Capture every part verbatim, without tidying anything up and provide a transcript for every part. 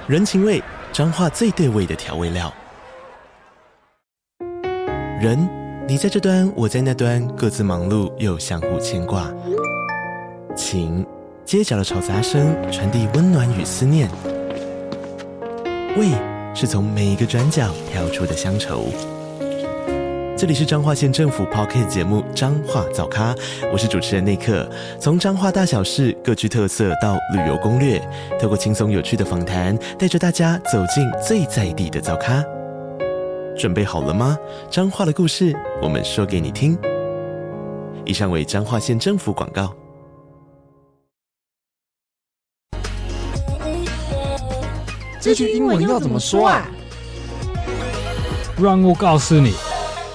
人情味，彰化最對味的調味料。人，你在這端，我在那端，各自忙碌又相互牽掛。情，街角的吵雜聲傳遞溫暖與思念。味，是從每一個轉角跳出的鄉愁。這裡是彰化縣政府 Podcast 節目《彰化早咖》，我是主持人內克。從彰化大小事各具特色到旅遊攻略，透過輕鬆有趣的訪談，帶着大家走進最在地的早咖。準備好了嗎？彰化的故事，我們說給你聽。以上為彰化縣政府廣告。 這句英文要怎麼說啊？ 讓我告訴你。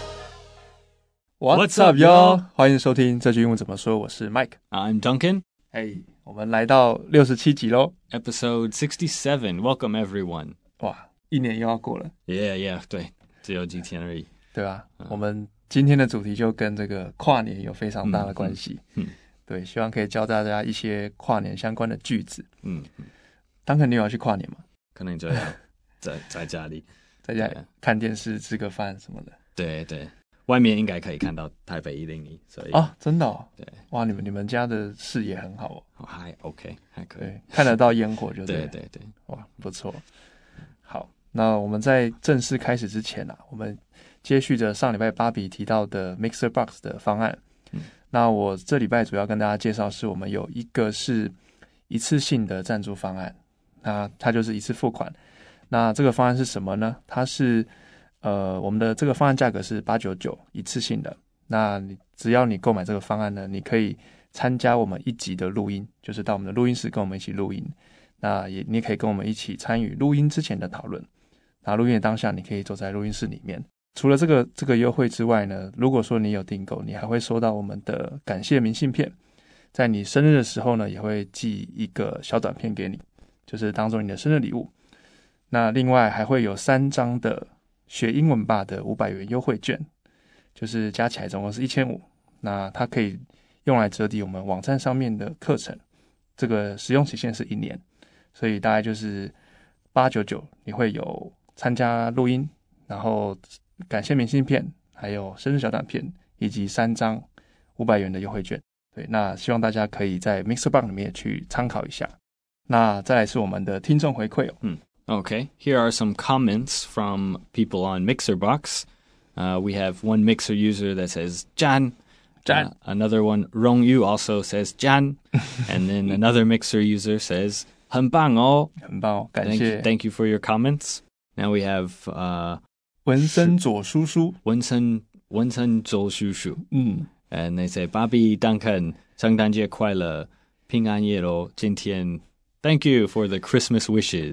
What's up, y'all？ 歡迎收聽這句英文怎麼說，我是 Mike。I'm Duncan。 哎，我們來到六十七集嘍 ，Episode sixty-seven. Welcome everyone。 哇，一年又要過了。 Yeah, yeah， 對，只有幾天而已， 對吧？嗯、我們今天的主題就跟這個跨年有非常大的關係。嗯，嗯對，希望可以教大家一些跨年相關的句子。嗯嗯。Duncan，你有要去跨年嗎？ 可能就要在在家裡， 在家裡看電視、吃個飯什麼的。 對對。外面應該可以看到台北一零一，所以啊，真的哦， 對， 哇，你們你們家的視野很好哦， 還 OK， 還可以， 看得到煙火就對， 對對對， 哇，不錯。好，那我們在正式開始之前啊，我們接續着上禮拜芭比提到的 MixerBox 的方案，嗯、那我這禮拜主要跟大家介紹是我們有一個是一次性的贊助方案，那它就是一次付款。那這個方案是什麼呢？它是呃，我們的這個方案價格是八百九十九一次性的。那你只要你購買這個方案呢，你可以參加我們一集的錄音，就是到我們的錄音室跟我們一起錄音。那也你也可以跟我們一起參與錄音之前的討論。那錄音的當下，你可以坐在錄音室裡面。除了這個這個優惠之外呢，如果說你有訂購，你還會收到我們的感謝明信片。在你生日的時候呢，也會寄一個小短片給你，就是當做你的生日禮物。那另外還會有三張的學英文吧的五百元優惠券，就是加起來總共是一千五百。那它可以用來折抵我們網站上面的課程，這個使用期限是一年，所以大概就是八百九十九，你會有參加錄音，然後感謝明信片，還有生日小短片，以及三張五百元的優惠券。對，那希望大家可以在 MixerBox 裡面去參考一下。那再來是我們的聽眾回饋哦， 嗯。Okay, here are some comments from people on MixerBox. Uh, we have one Mixer user that says Jan. Jan. Uh, another one, Rongyu, also says Jan. And then another Mixer user says 很棒哦， 很棒哦，感謝。 Thank you, thank you for your comments. Now we have uh, 文森佐叔叔， 文森文森佐叔叔。 嗯 And they say 芭比 Duncan 聖誕節快樂，平安夜咯，今天。Thank you for the Christmas wishes.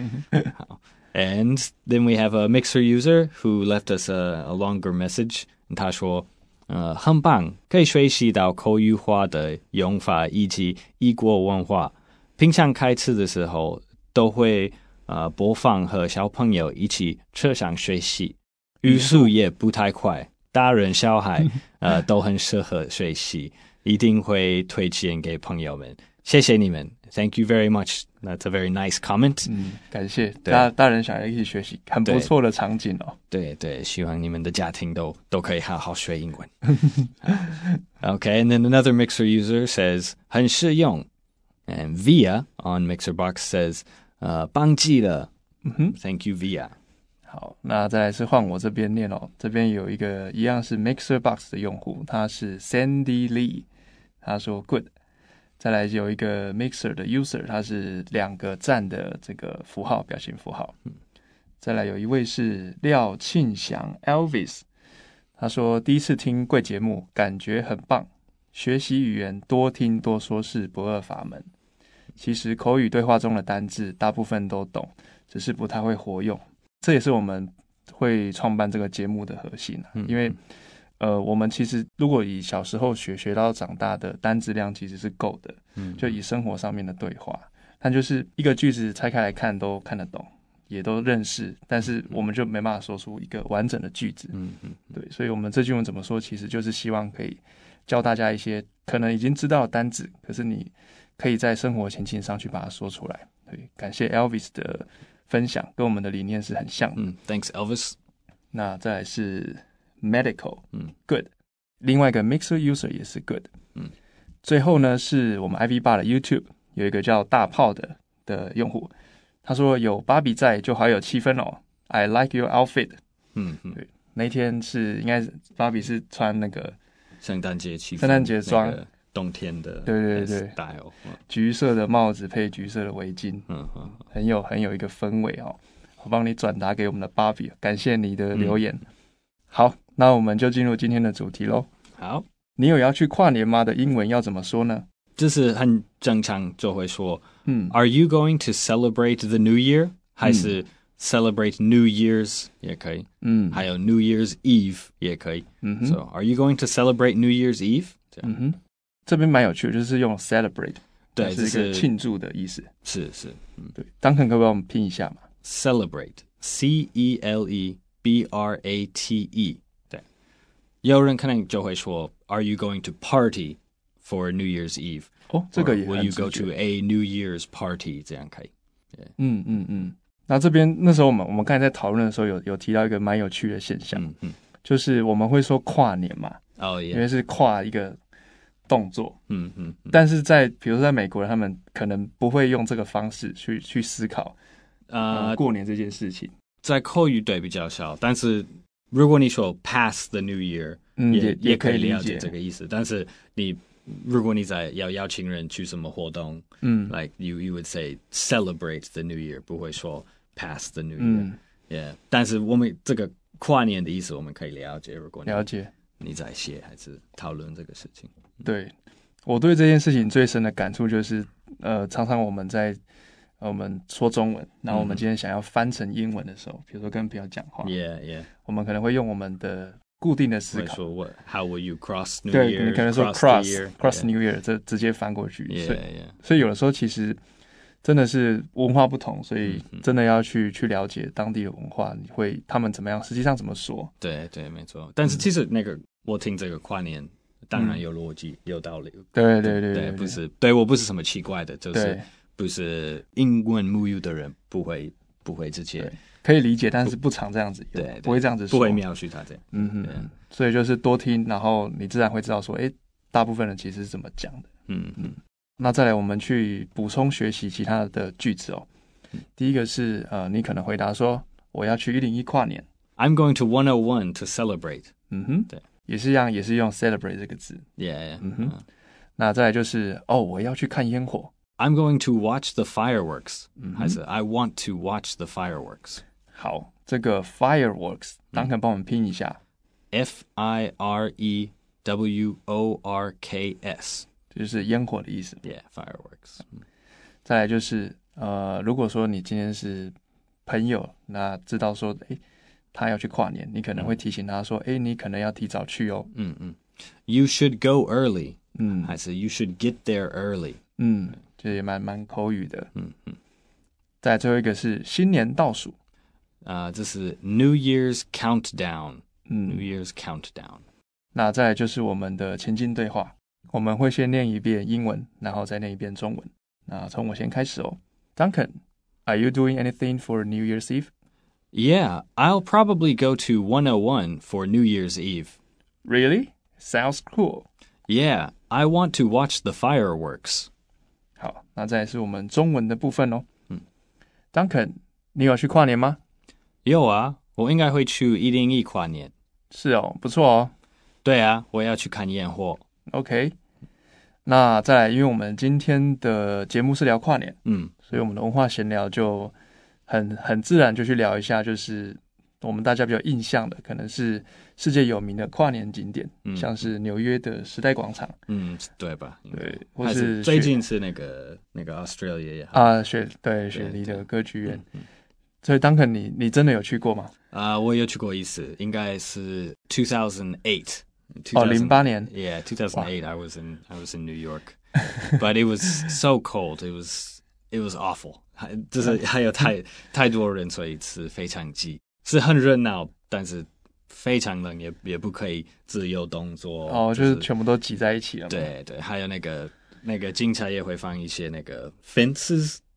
And then we have a Mixer user who left us a, a longer message. 他說，呃，很棒，可以學習到口語化的用法以及異國文化。平常開車的時候都會呃播放和小朋友一起車上學習，語速也不太快，大人小孩呃都很適合學習，一定會推薦給朋友們。謝謝你們 ，Thank you very much. That's a very nice comment. 嗯，感謝大大人小孩一起學習，很不錯的場景哦。 對對，希望你們的家庭都都可以好好學英文。Okay, and then another Mixer user says 很實用 ，and Via on MixerBox says 呃忘記了。嗯哼 ，Thank you Via. 好，那再來是換我這邊念哦，這邊有一個一樣是 MixerBox 的用戶，他是 Sandy Lee， 他說 Good。再來有一個 Mixer 的 user， 他是兩個讚的這個符號表情符號。再來有一位是廖慶祥 Elvis， 他說第一次聽貴節目，感覺很棒，學習語言多聽多說是不二法門。其實口語對話中的單字大部分都懂，只是不太會活用。這也是我們會創辦這個節目的核心啊，因為呃，我們其實如果以小時候學學到長大的單字量其實是夠的，嗯，就以生活上面的對話，但就是一個句子拆開來看都看得懂，也都認識，但是我們就沒辦法說出一個完整的句子，嗯嗯，對，所以我們這句文怎麼說，其實就是希望可以教大家一些可能已經知道的單字，可是你可以在生活情境上去把它說出來， 對，感謝 Elvis 的分享，跟我們的理念是很像的。 嗯 ，Thanks Elvis。 那再來是 Medical， 嗯 ，Good。另外一個 Mixer User 也是 Good。 嗯， 最後呢是我們 I V 八的 YouTube 有一個叫大炮的的用戶，他說有芭比在就好有氣氛哦。I like your outfit。 嗯嗯， 對，那一天是應該是芭比是穿那個聖誕節氣氛， 聖誕節裝。 冬天的對對對 style， 橘色的帽子配橘色的圍巾， 嗯嗯， 很有很有一個氛圍哦。我幫你轉達給我們的芭比，感謝你的留言。嗯、好，那我們就進入今天的主題嘍。 好， 你有要去跨年嗎？的英文要怎麼說呢？ 就是很正常就會說， 嗯 ，Are you going to celebrate the New Year？、嗯、還是 celebrate New Year's 也可以， 嗯， 還有 New Year's Eve 也可以。嗯哼 So are you going to celebrate New Year's Eve？ 這樣， 嗯哼。這邊蠻有趣的，就是用 celebrate， 對， 是一個慶祝的意思。 是是，嗯， 對。Duncan 可不可以幫我們拼一下嘛 ？Celebrate，C E L E B R A T E。對，有人可能就會說 ，Are you going to party for New Year's Eve？ 哦，這個也很 Will you go to a New Year's party？ 這樣可以。 嗯嗯嗯。那這邊那時候我們我們剛才在討論的時候有，有有提到一個蠻有趣的現象， 嗯嗯， 就是我們會說跨年嘛， 哦、oh, yeah. 因為是跨一個動作， 嗯嗯，嗯但是在比如說在美國人，他們可能不會用這個方式去去思考啊、呃、過年這件事情。 在口語對比較少，但是如果你說 pass the New Year， 嗯， 也也也可以了解這個意思。但是你如果你在要邀請人去什麼活動，嗯 ，like you you would say celebrate the New Year， 不會說 pass the New Year，嗯，yeah。但是我們這個跨年的意思我們可以了解，如果你了解你在寫還是討論這個事情。 對，我對這件事情最深的感觸就是，呃，常常我們在、呃、我們說中文，然後我們今天想要翻成英文的時候，比如說跟朋友講話 ，Yeah, yeah， 我們可能會用我們的固定的思考， 說 What, How will you cross New Year？ 對，你可能說 cross year, cross yeah. New Year， 這直接翻過去， yeah, 所以 yeah. 所以有的時候其實真的是文化不同，所以真的要去去了解當地的文化，你會他們怎麼樣，實際上怎麼說？ 對對，沒錯。但是其實那個、嗯、我聽這個跨年。當然有邏輯、嗯，有道理。 對對對 對, 對，不是對我不是什麼奇怪的，就是不是英文母語的人不會不會直接可以理解，但是不常這樣子用，對，不會這樣子說， 不會描述他這樣。 嗯哼，所以就是多聽，然後你自然會知道說，哎，大部分人其實是怎麼講的。嗯嗯。那再來，我們去補充學習其他的句子哦。嗯、第一個是呃，你可能回答說，我要去一零一跨年。 I'm going to one oh one to celebrate。 嗯哼，對。也是一樣，也是用 celebrate 這個字。 Yeah, yeah. 嗯哼。Uh, 那再來就是哦，我要去看煙火。 I'm going to watch the fireworks。 嗯， 還是 I want to watch the fireworks。 好，這個 fireworks，當肯幫我們拼一下。 F I R E W O R K S， 就是煙火的意思。 Yeah, fireworks。 再來就是呃，如果說你今天是朋友，那知道說，哎。他要去跨年，你可能會提醒他說：“哎、嗯，你可能要提早去哦。” 嗯嗯 ，You should go early。 嗯， 還是 You should get there early。 嗯，這也蠻蠻口語的。 嗯嗯。 再來最後一個是新年倒數啊，這是 New Year's countdown。 嗯 ，New Year's countdown。 那再來就是我們的前進對話，我們會先念一遍英文，然後再念一遍中文。那從我先開始哦。Duncan，Are you doing anything for New Year's Eve？Yeah, I'll probably go to one oh one for New Year's Eve. Really? Sounds cool. Yeah, I want to watch the fireworks. 好，那再來是我們中文的部分哦。 嗯 Duncan，你有去跨年嗎？ 有啊，我應該會去一零一跨年。 是哦，不錯哦。 對啊，我要去看煙火。 OK。那再來，因為我們今天的節目是聊跨年， 嗯， 所以我們的文化閒聊就。很很自然就去聊一下，就是我們大家比較印象的，可能是世界有名的跨年景點，嗯、像是紐約的時代廣場， 嗯，對吧？ 對，或是最近是那個那個 Australia 也好啊，雪對雪梨的歌劇院。所以 Duncan，你你真的有去過嗎？ 啊、uh, ，我有去過一次，應該是 two thousand eight。 哦，零八年。 Yeah, two thousand eight. I was in I was in New York, but it was so cold. It was it was awful. 就是還有太太多人，所以是非常擠，是很熱鬧，但是非常冷，也也不可以自由動作。 哦，就是、就是全部都擠在一起了嘛。 對對，還有那個那個警察也會放一些那個 fences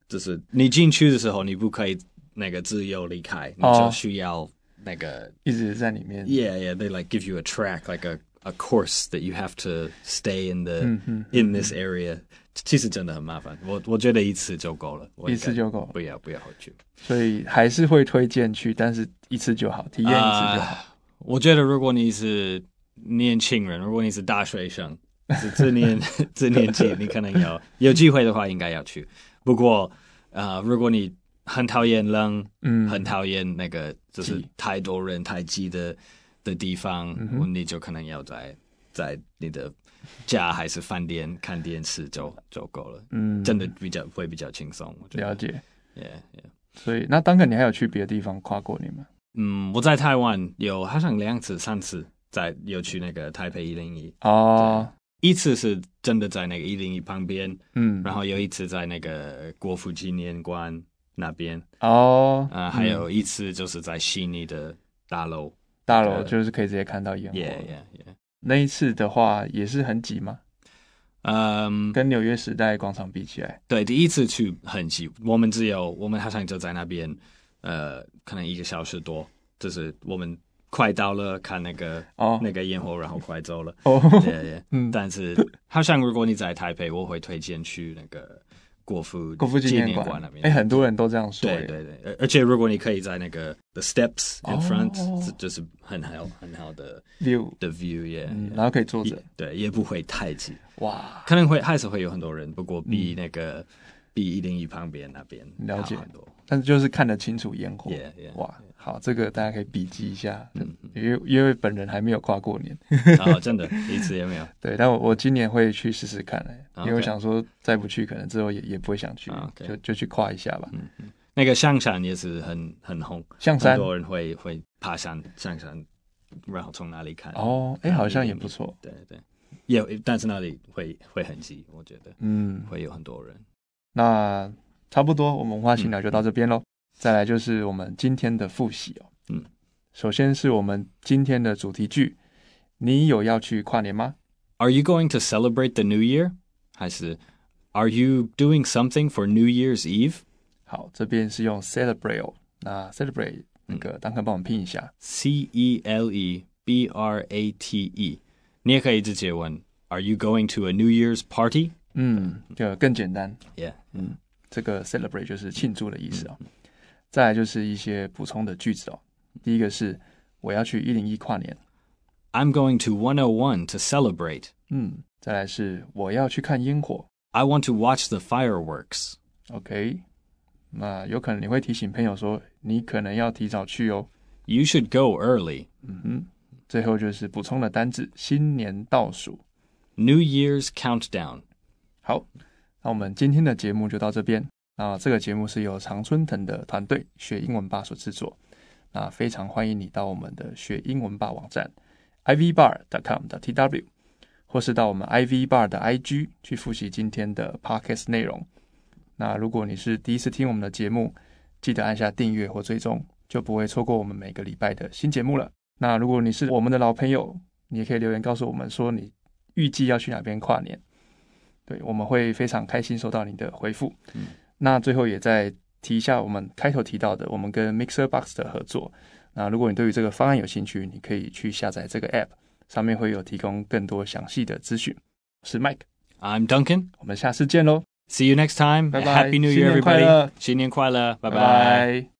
就是你進去的時候，你不可以那個自由離開，你就需要那個、哦、 一直在裡面。 Yeah, yeah, they like give you a track, like a a course that you have to stay in the、嗯嗯、in this area。其實真的很麻煩，我我覺得一次就夠了， 一次就夠了， 不要不要回去。 所以還是會推薦去，但是一次就好，體驗一次就好。Uh, 我覺得如果你是年輕人，如果你是大學生，是這年這年紀，你可能要有機會的話，應該要去。不過，呃，如果你很討厭冷，嗯，很討厭那個就是太多人太擠的的地方，嗯、你就可能要在在你的家還是飯店看電視就就夠了。嗯，真的比較會比較輕鬆。我覺得了解 ，Yeah, yeah。所以，那Duncan，你還有去別的地方跨過年嗎？ 嗯，我在台灣有好像兩次、三次，在有去那個台北一零一哦。 一次是真的在那個一零一旁邊，嗯，然後有一次在那個國父紀念館那邊哦， 啊、呃，還有一次就是在悉尼的大樓， 大樓就是可以直接看到煙火。 Yeah, yeah, yeah。 那一次的話也是很擠嗎？ 嗯， 跟紐約時代廣場比起來， 對，第一次去很擠，我們只有我們好像就在那邊，呃，可能一個小時多，就是我們。快到了，看那個、oh. 那個煙火，然後快走了。哦、oh. ，yeah, yeah. 嗯，但是好像如果你在台北，我會推薦去那個國父國父紀念館那邊。哎，很多人都這樣說。 對對對，而且如果你可以在那個 the steps in front，、oh. 就是很好很好的 view 的 view，yeah，、嗯、 然後可以坐着， 對，也不會太擠。 哇， 可能會還是會有很多人，不過比那個、嗯、比一零一旁邊那邊了解很多。但是就是看得清楚煙火， yeah, yeah, 哇，好，這個大家可以筆記一下，嗯、因為因為本人還沒有跨過年， 哦，真的，一次也沒有。 對，但我我今年會去試試看、欸 okay. 因為我想說再不去，可能之後也也不會想去， okay. 就就去跨一下吧。嗯嗯， 那個象山也是很很紅， 象山很多人會會爬山，象山，然後從哪裡看？ 哦，哎、欸，好像也不錯。 對對，也但是那裡會會很擠，我覺得，嗯，會有很多人。 那。差不多，我們文化新聊就到這邊嘍、嗯。再來就是我們今天的複習哦。嗯，首先是我們今天的主題句，你有要去跨年嗎 ？Are you going to celebrate the New Year？ 還是 Are you doing something for New Year's Eve？ 好，這邊是用 celebrate 哦。那 celebrate 那個，當可幫我們拼一下、嗯、 ，C E L E B R A T E。你也可以直接問 Are you going to a New Year's party？ 嗯，就更簡單。 Yeah， 嗯。這個 celebrate 就是慶祝的意思哦，再來就是一些補充的句子哦。第一個是我要去一零一跨年 ，I'm going to one oh one to celebrate。 嗯，再來是我要去看煙火 ，I want to watch the fireworks。 OK， 那有可能你會提醒朋友說你可能要提早去哦 ，You should go early。 嗯哼，最後就是補充的單字新年倒數 ，New Year's countdown。 好。那我們今天的節目就到這邊。那這個節目是由常春藤的團隊學英文吧所製作。那非常歡迎你到我們的學英文吧網站 i v bar dot com dot t w， 或是到我們 I V Bar 的 I G 去複習今天的 podcast 內容。那如果你是第一次聽我們的節目，記得按下訂閱或追蹤，就不會錯過我們每個禮拜的新節目了。那如果你是我們的老朋友，你也可以留言告訴我們說你預計要去哪邊跨年。對，我們會非常開心收到你的回復。嗯，那最後也再提一下我們開頭提到的，我們跟 MixerBox 的合作。那如果你對於這個方案有興趣，你可以去下載這個 App， 上面會有提供更多詳細的資訊。我是 Mike，I'm Duncan， 我們下次見嘍 ，See you next time， 拜拜 ，Happy New Year everybody，新年快樂，拜拜。